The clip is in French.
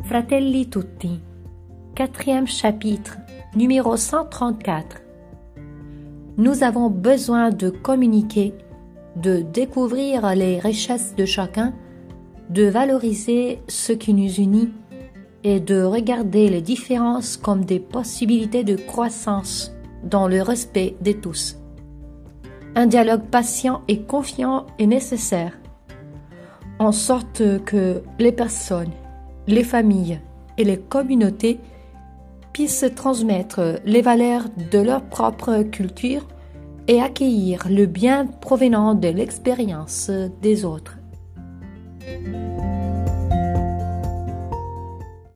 Fratelli tutti, quatrième chapitre, numéro 134. Nous avons besoin de communiquer, de découvrir les richesses de chacun, de valoriser ce qui nous unit et de regarder les différences comme des possibilités de croissance dans le respect de tous. Un dialogue patient et confiant est nécessaire, en sorte que les personnes, les familles et les communautés puissent transmettre les valeurs de leur propre culture et accueillir le bien provenant de l'expérience des autres.